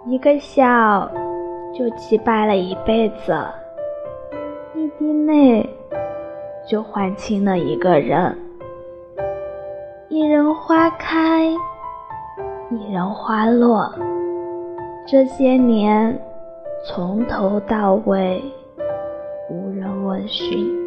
一个笑就击败了一辈子，一滴泪就换清了一个人。一人花开，一人花落，这些年从头到尾无人问讯。